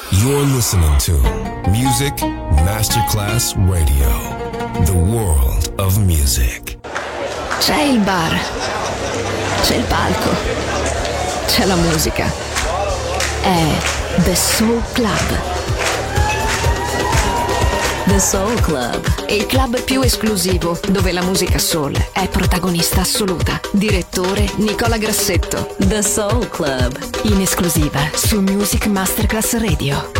You're listening to Music Masterclass Radio, the world of music. C'è il bar, c'è il palco, c'è la musica. È The Soul Club. The Soul Club, il club più esclusivo dove la musica soul è protagonista assoluta. Direttore Nicola Grassetto. The Soul Club, in esclusiva su Music Masterclass Radio.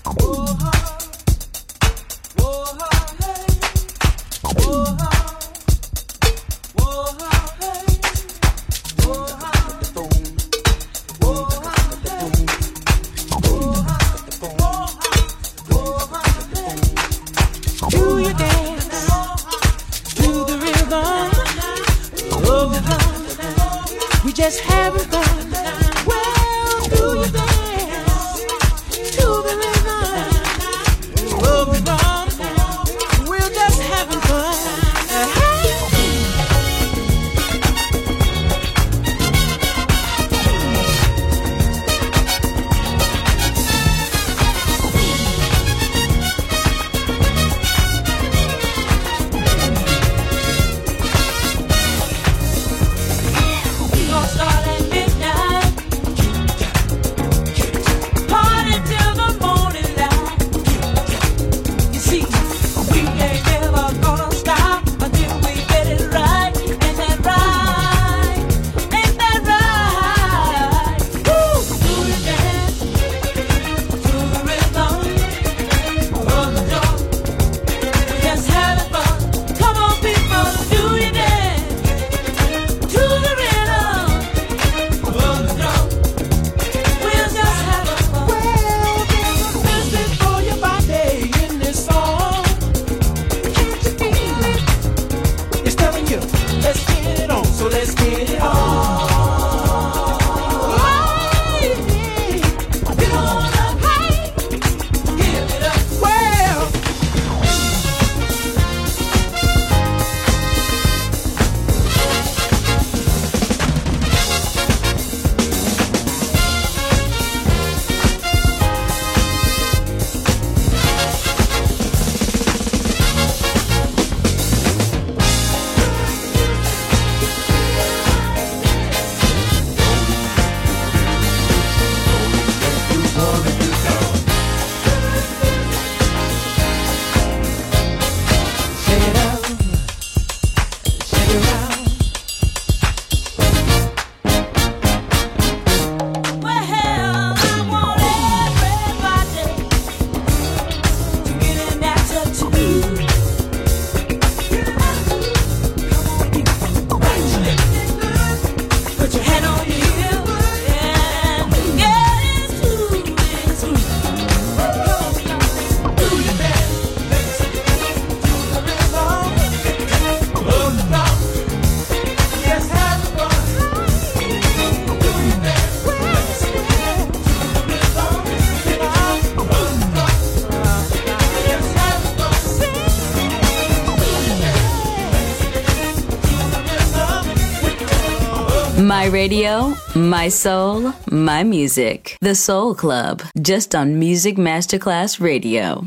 My radio, my soul, my music. The Soul Club, just on Music Masterclass Radio.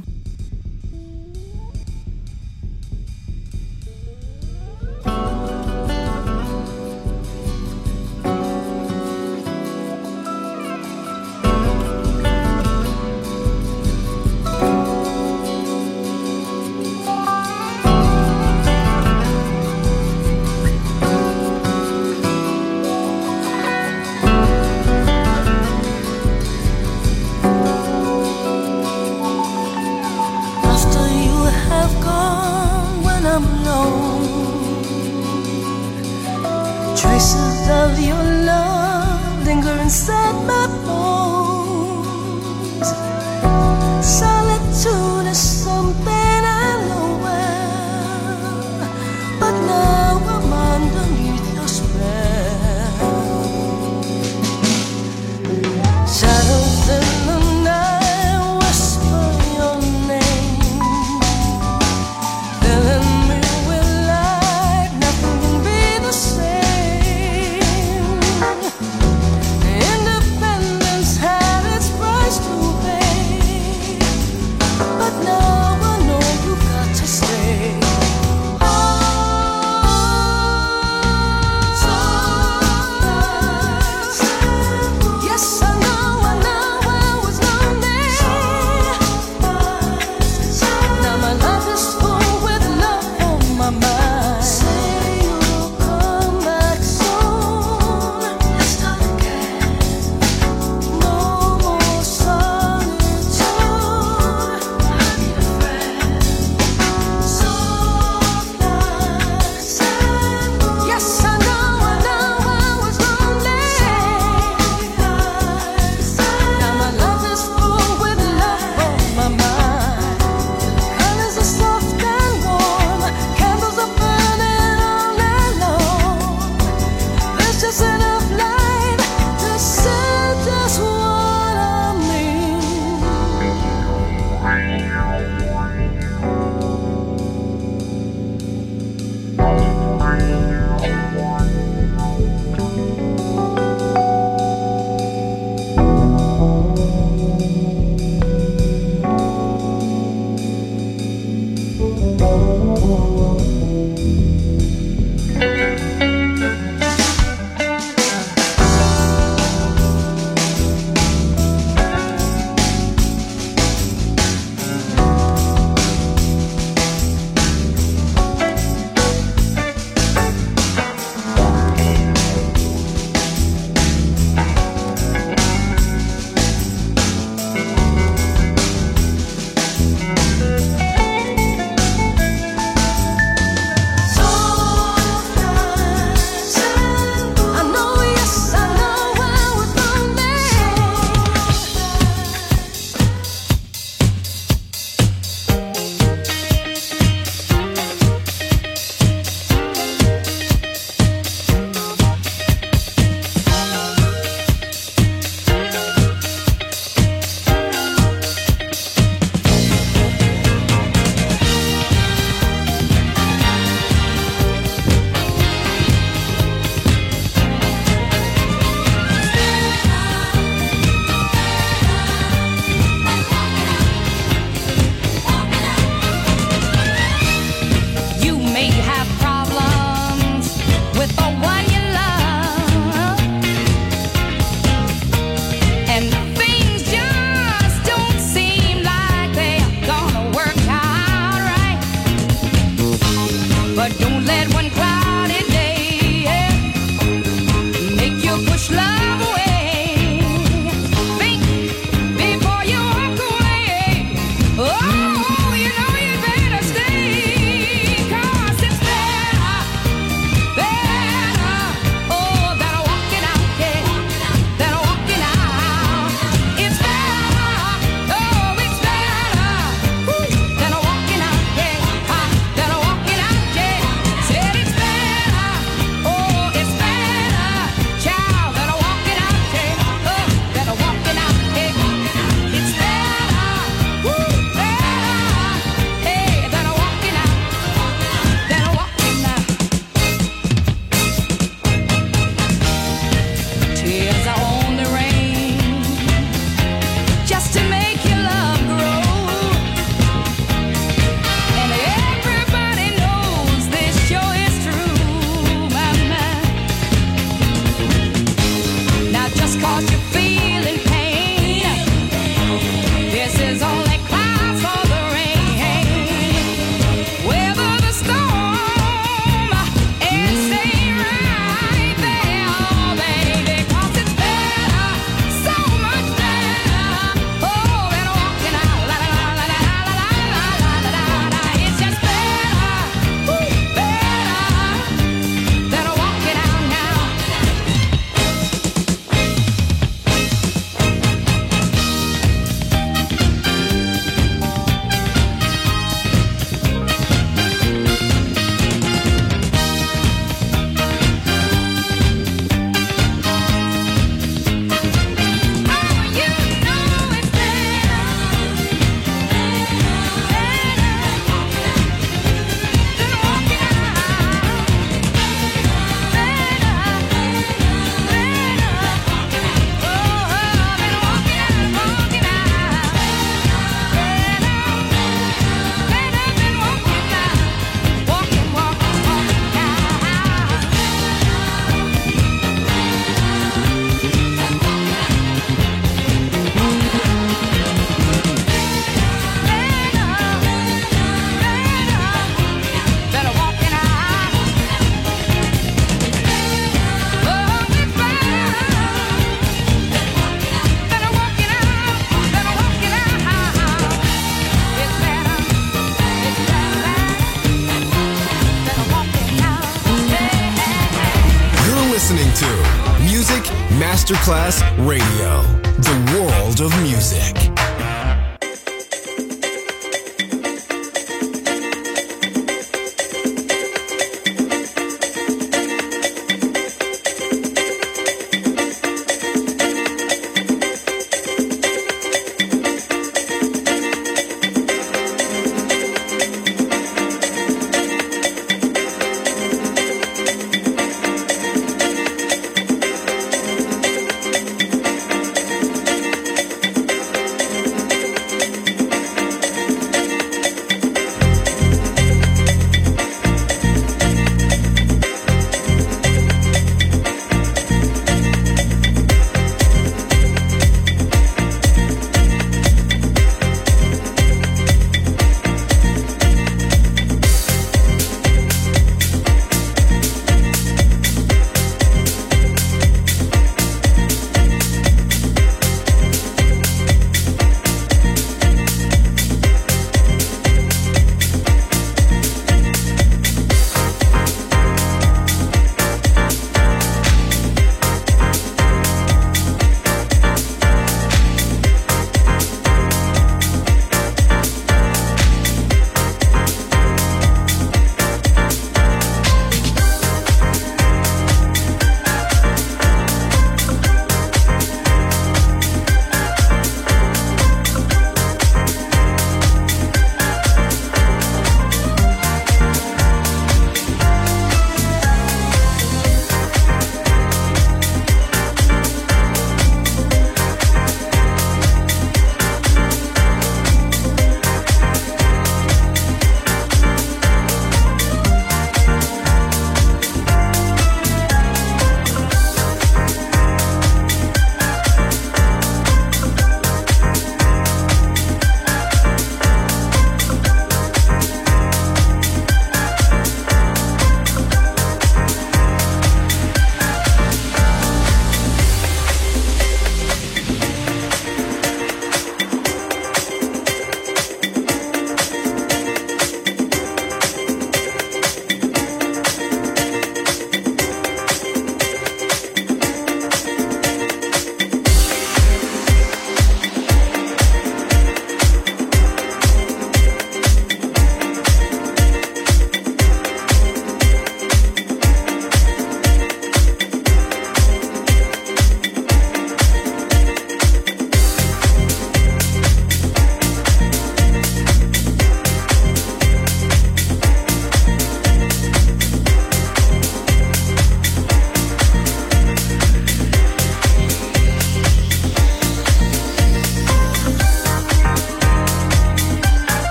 Masterclass Radio, the world of music.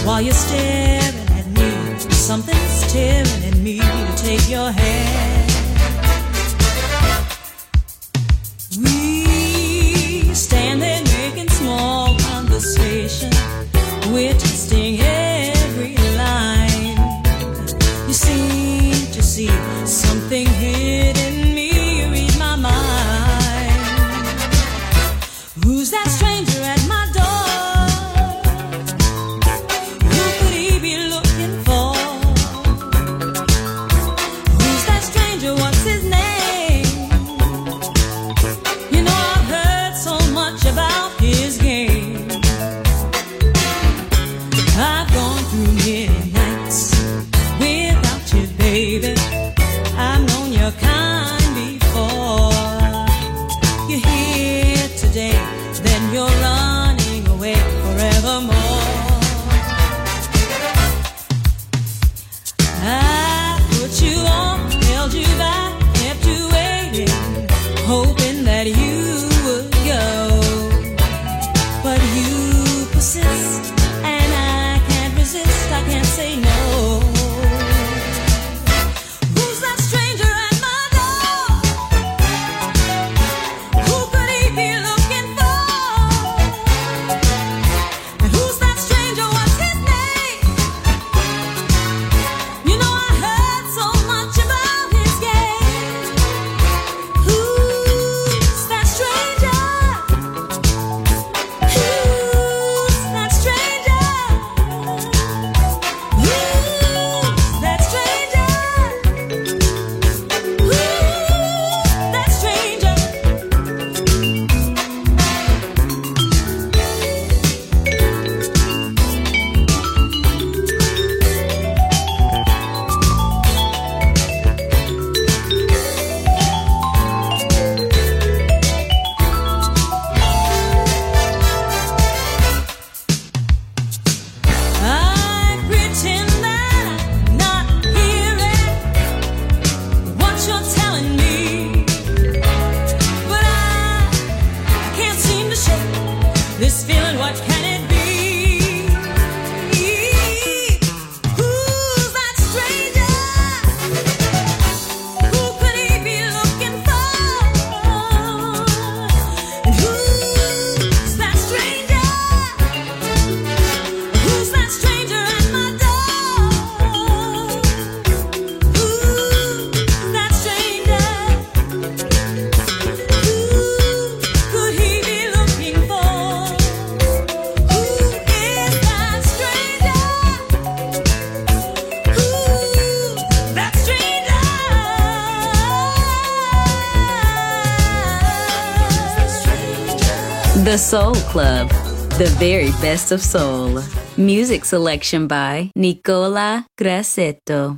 while you're staring at me. Something's tearing at me to take your hand. We stand there making small conversation. We're twisting every line. You seem to see something hidden me. You read my mind. Who's that stranger at my door? Who could he be looking for? Who's that stranger? What's his name? You know I've heard so much about his game. I've gone through many nights without you, baby. I've known your kind before. You're here today, then you're running away forevermore. I put you on, held you back, kept you waiting, hoping that you would go. But you persist, and I can't resist, I can't say no. Who's that stranger at my door? Who could he be looking for? And who's that stranger? What's his name? You know I heard so much about his game. Who's that stranger? Who's that stranger? Who's that stranger? Who's that stranger? I pretend that I'm not hearing what you're telling me, but I can't seem to shake this feeling. What can it be? Who's that stranger? Who could he be looking for? And who's that stranger? Who's that stranger at my door? Who's that stranger? Who could he be looking for? Who is that stranger? Who's that stranger? The Soul Club, the very best of soul. Music selection by Nicola Grassetto.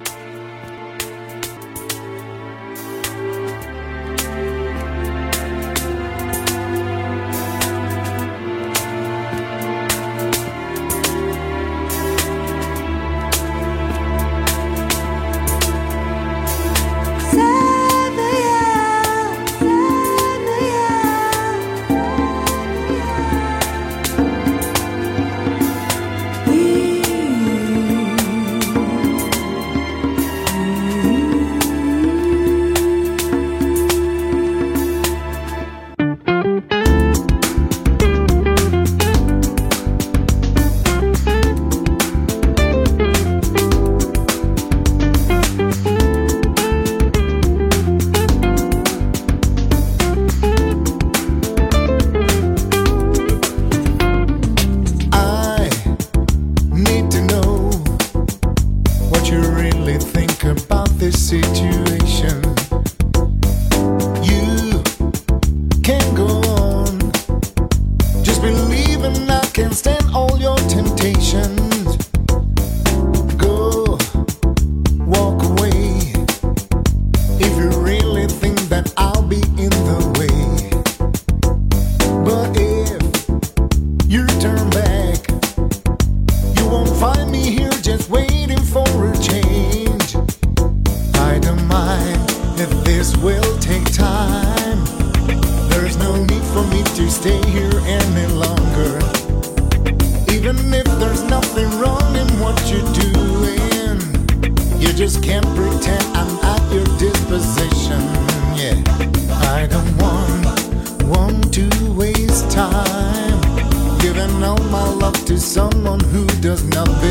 I need to know what you really think about this situation. You can't go on just believing I can stand all your temptations. Go, walk away if you really think that I'll be in the way. But if you turn back, you won't find me here just waiting for a change. I don't mind if this will take time. There's no need for me to stay here any longer. Even if there's nothing wrong in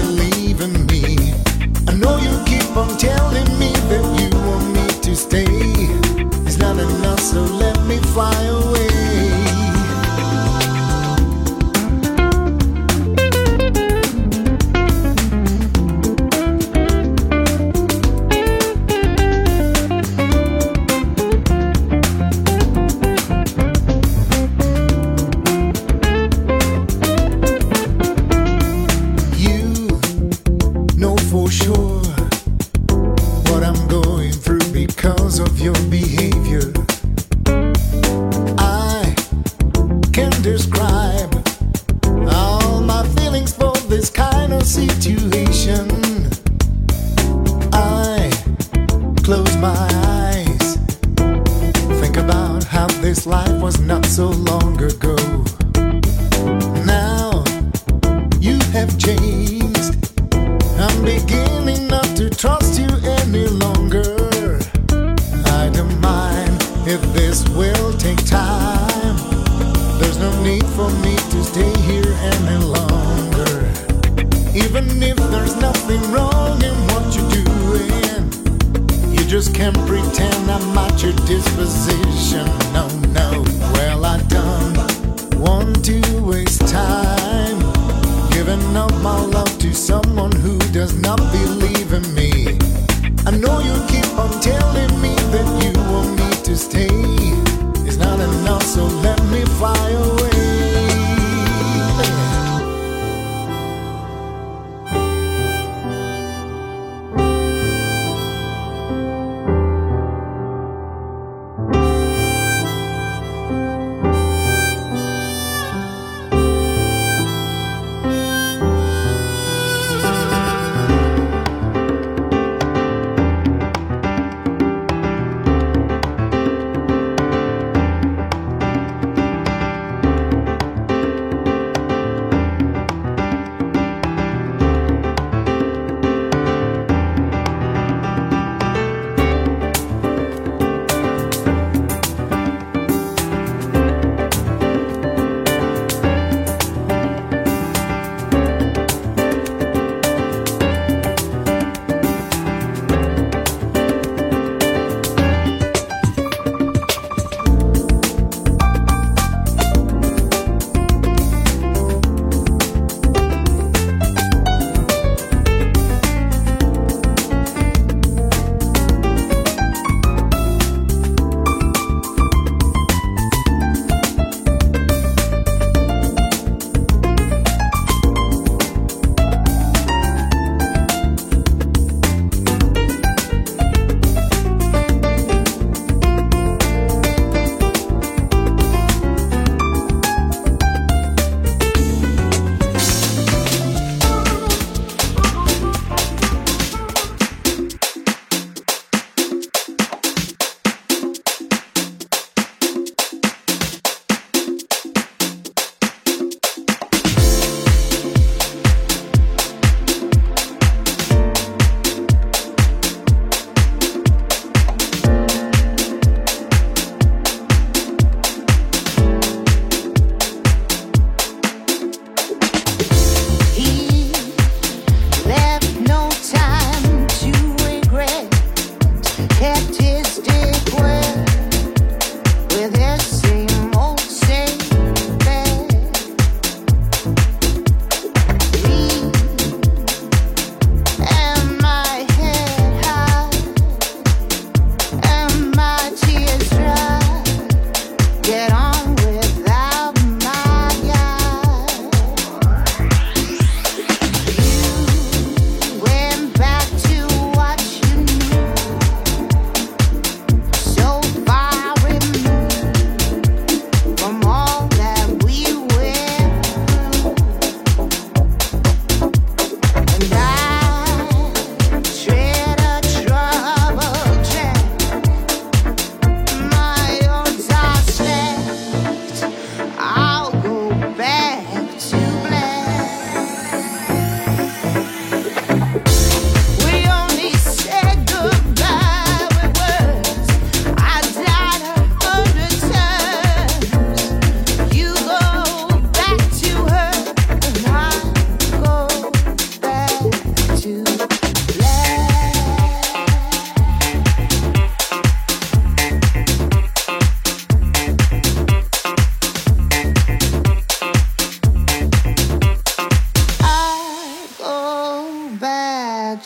believe in me. I know you keep on telling me that you want me to stay. It's not enough, so let me fly away.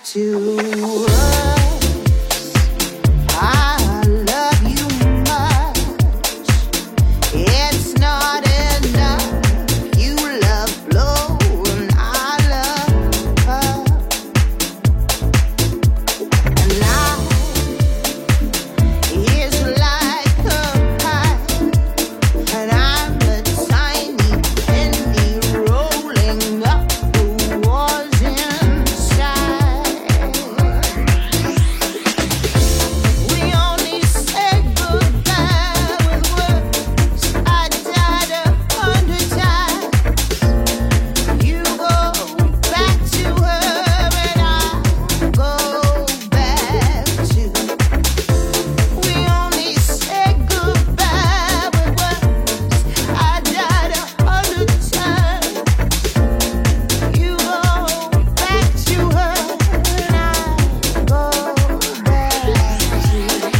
to us. I love you much. It's not enough. You love blow and I love her. And life is like a pie, and I'm a tiny penny rolling up the walls inside. We only said goodbye with words. I died 100 times. You go back to her and I go back to. We only said goodbye with words. I died 100 times. You go back to her and I go back to.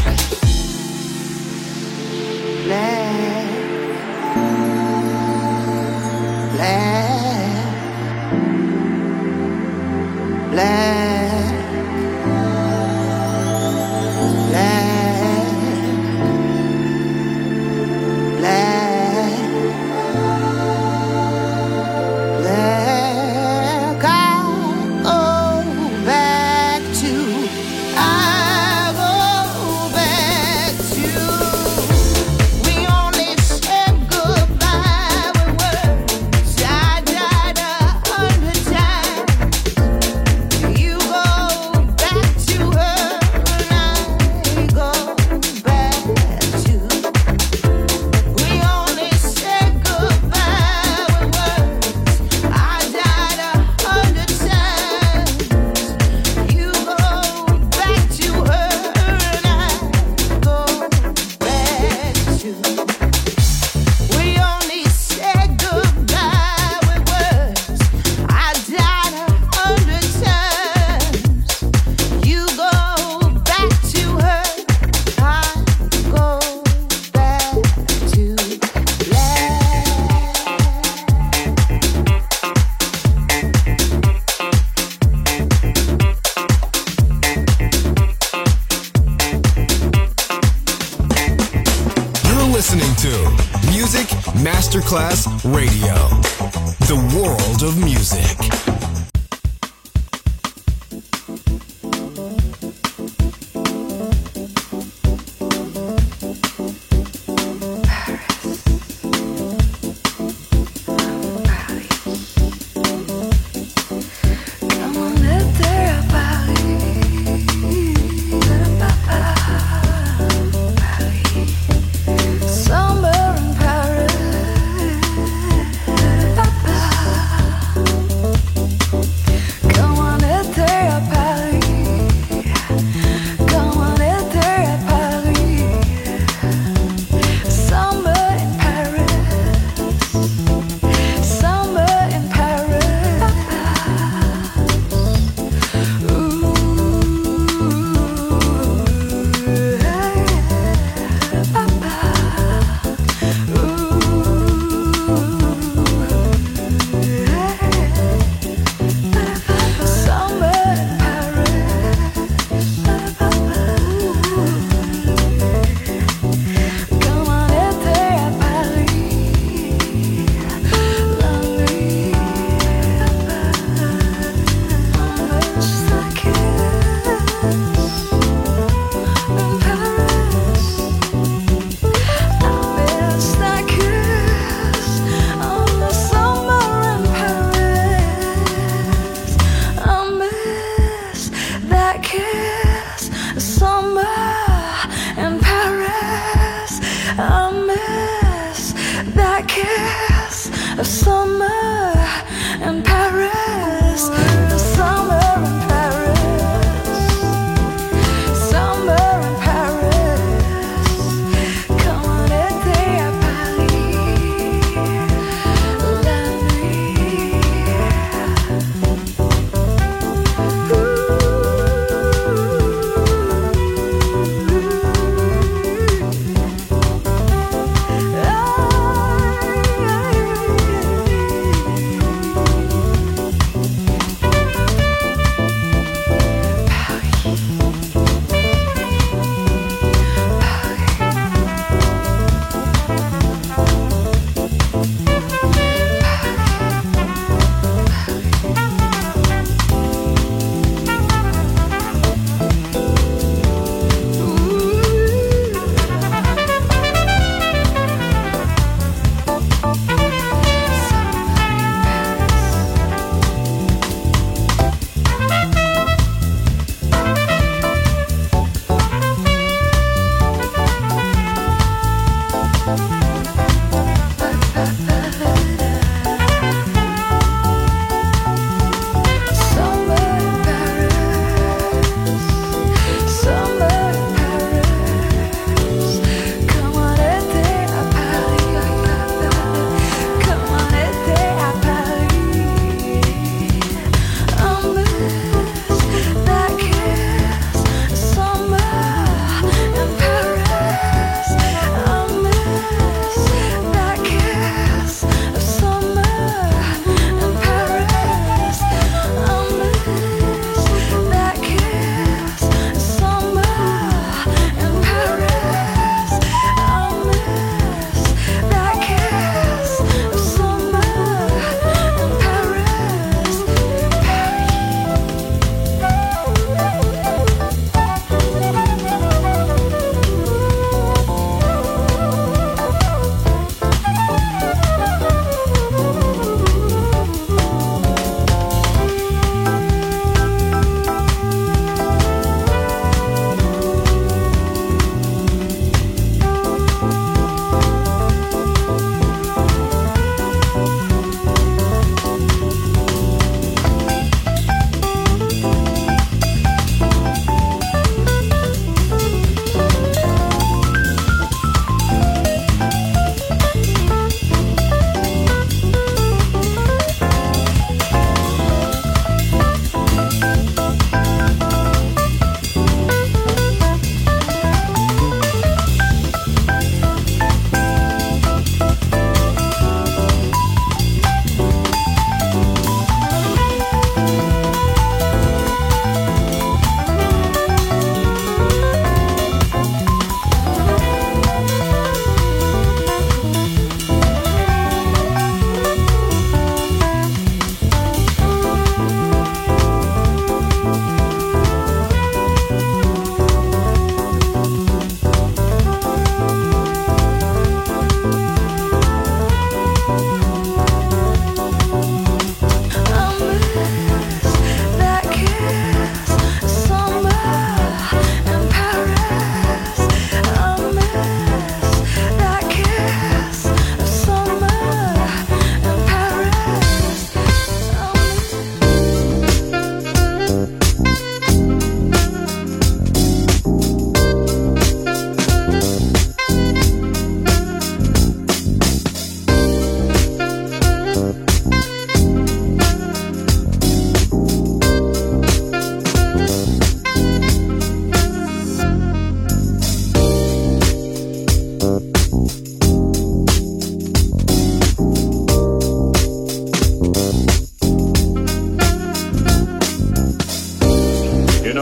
We only said goodbye with words. I died 100 times. You go back to her and I go back to. We only said goodbye with words. I died 100 times. You go back to her and I go back to. We only said goodbye with words. I died 100 times. You go back to her. I go back to You're listening to Music Masterclass Radio, the world of music. Come on, let there Summer in Paris.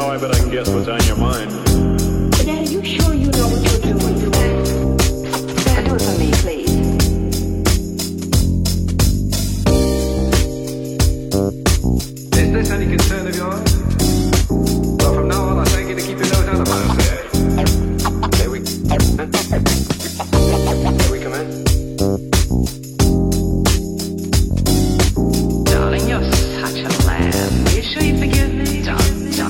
how I bet I can guess what's on your mind. Daddy, you sure you know what you're doing? Do it for me, please. Is this any concern of yours? Well, from now on, I thank you to keep your nose out of my affair. May we come in? Darling, you're such a lamb. Are you sure you forgive me? Stop.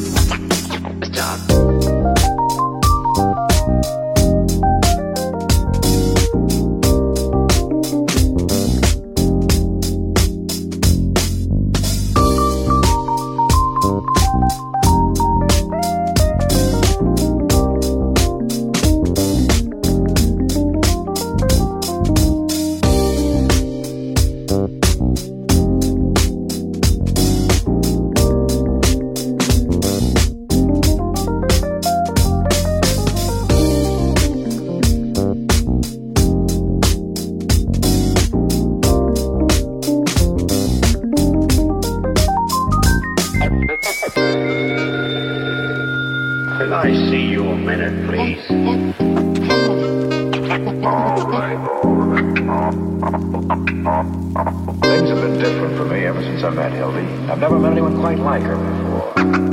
Can I see you a minute, please? All right. Things have been different for me ever since I met Hildy. I've never met anyone quite like her before.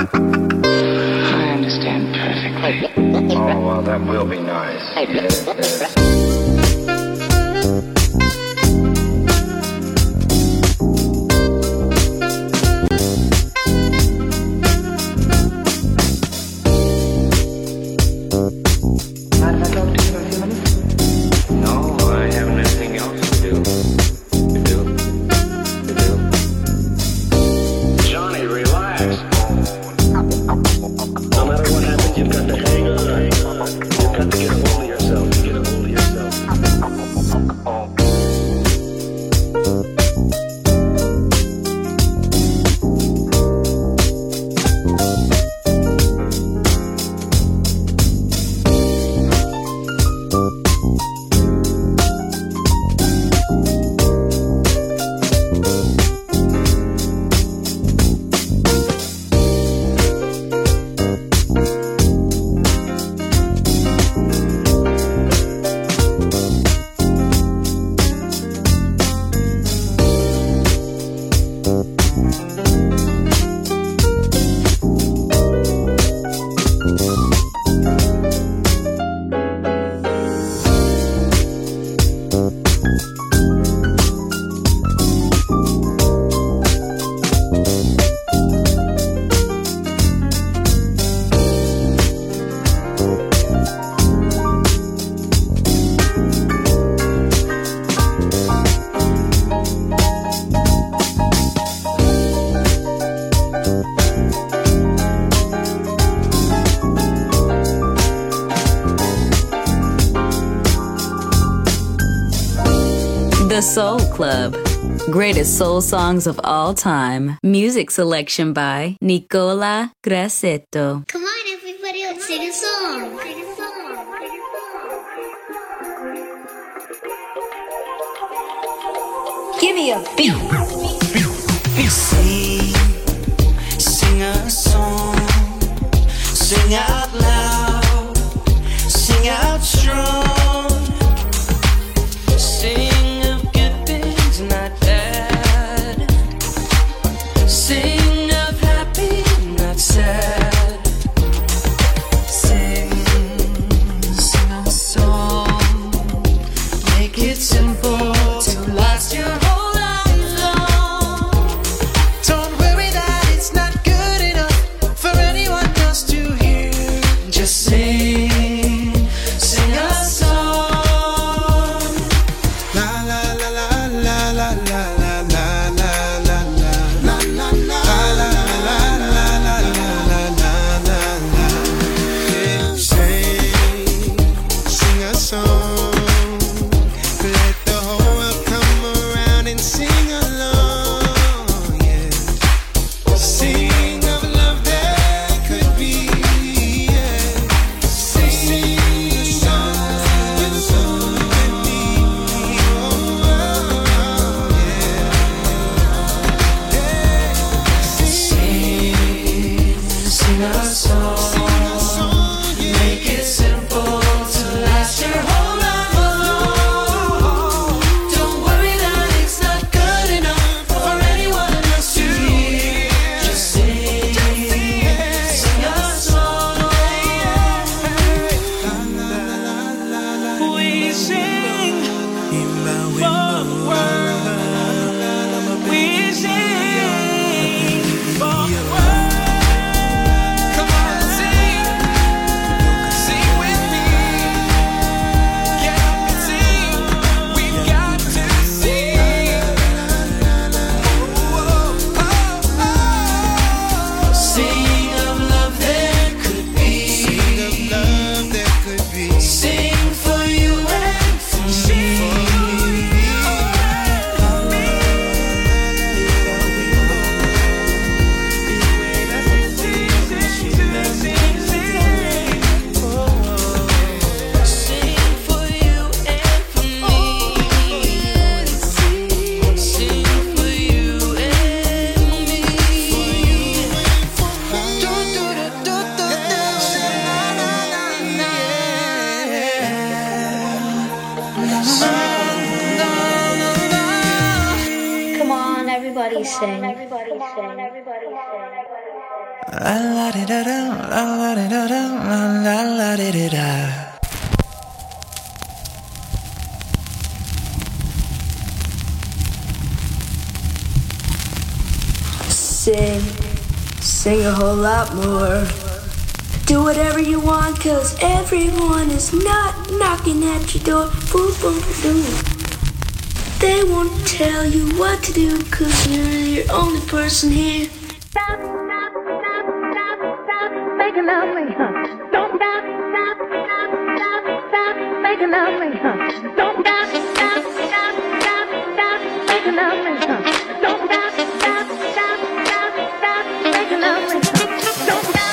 I understand perfectly. Oh, well, that will be nice. Yes. Mind if I talk to you for a few minutes? No, I haven't anything else to do. You do? Johnny, relax. No matter what happens, you've got to hang on. You've got to get a hold of yourself. Get a hold of yourself. The Soul Club. Greatest soul songs of all time. Music selection by Nicola Grassetto. Come on, everybody, let's sing a song. Give me a beat. Sing a song. Sing out loud. Sing out strong. Sing of good things, not bad. Sing of happy, not sad. Sing a song. Make it simple to last your whole life long. Don't worry that it's not good enough for anyone else to hear. Just sing a song. La la la la la la la la la la la la la la la la la la la. Sing a song. Let the whole world come around and sing along. Yeah. Sing of love that could be. Yeah. Sing a song with me. Oh, yeah. Sing a song. sing. La la di da da, la la di da da, la la di di da. Sing a whole lot more. Do whatever you want, 'cause everyone is not knocking at your door. Boom, boom, boom. They won't tell you what to do, 'cause you're the only person here. Stop, stop, stop, stop, stop making love me, huh? Don't stop, stop, stop, stop, stop making love me, huh? Don't stop, stop, stop, stop, stop making love me, huh? Don't stop, stop, stop, stop, stop making love me, huh? Don't stop.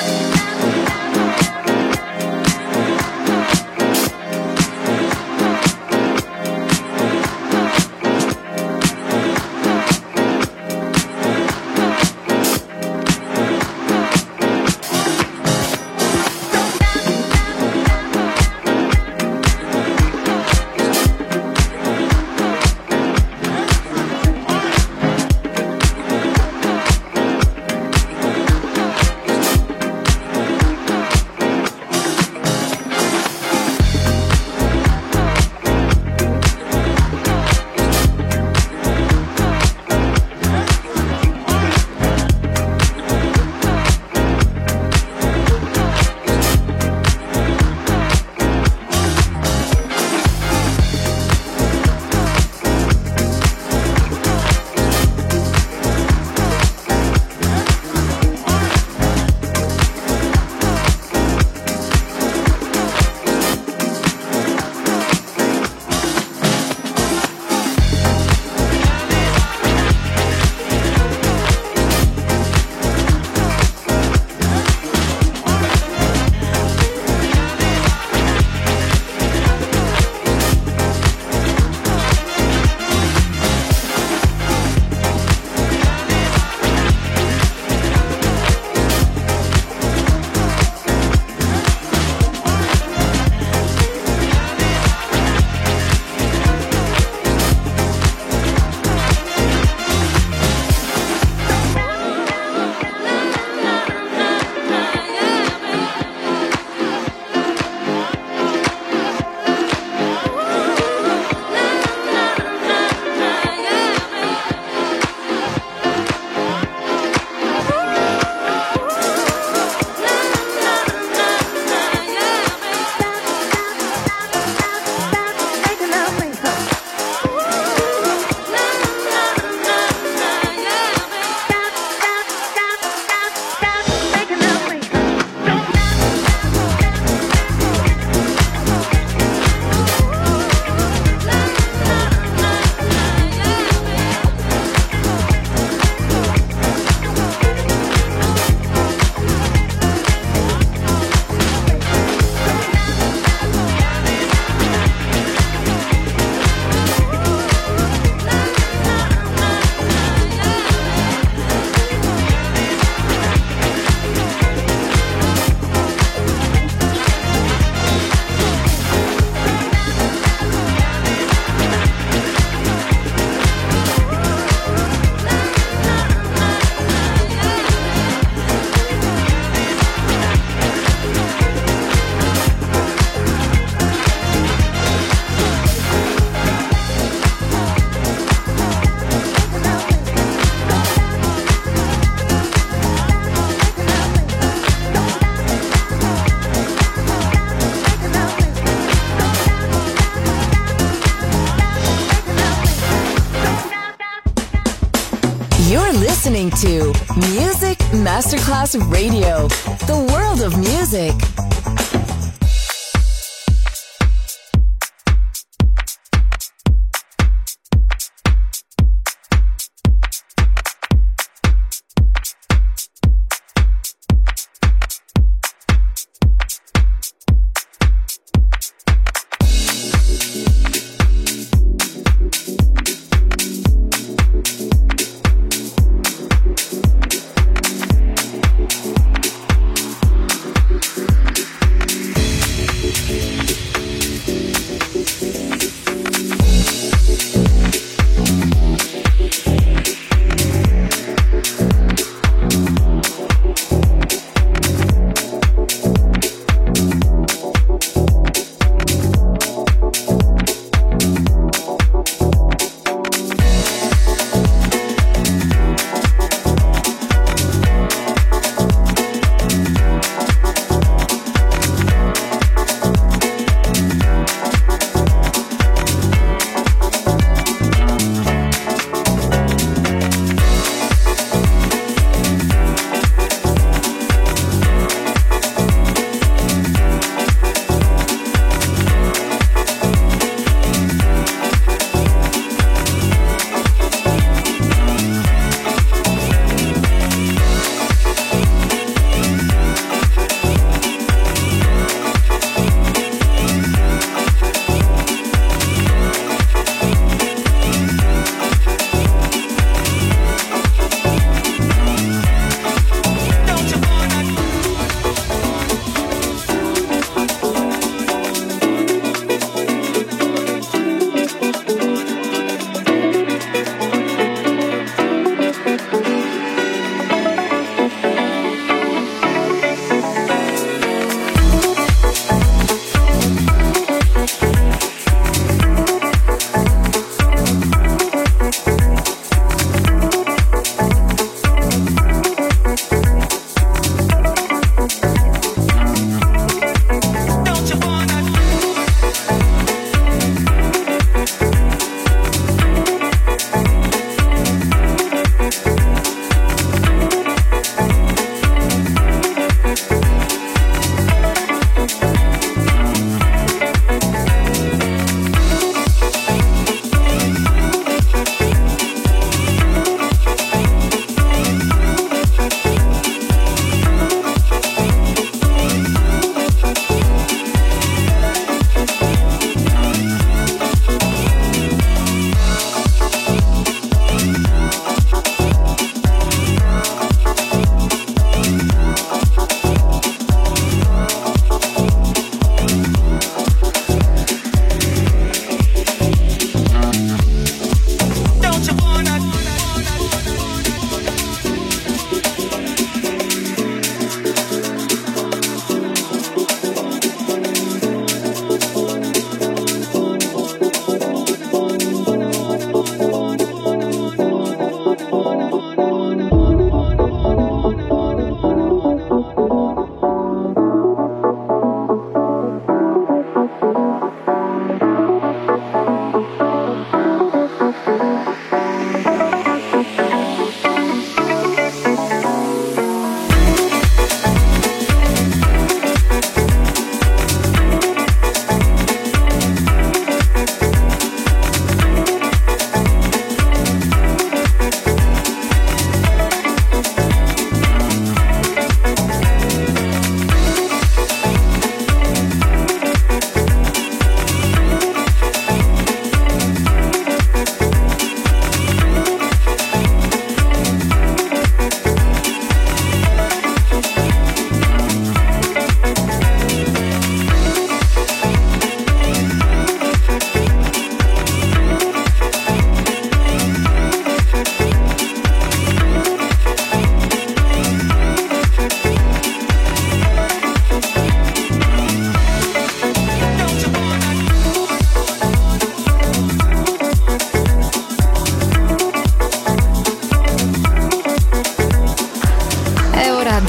listening to Music Masterclass Radio, the world of music.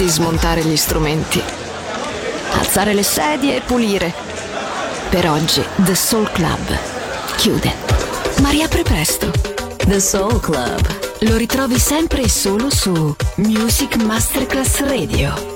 di smontare gli strumenti, alzare le sedie e pulire. Per oggi The Soul Club chiude, ma riapre presto. The Soul Club lo ritrovi sempre e solo su Music Masterclass Radio.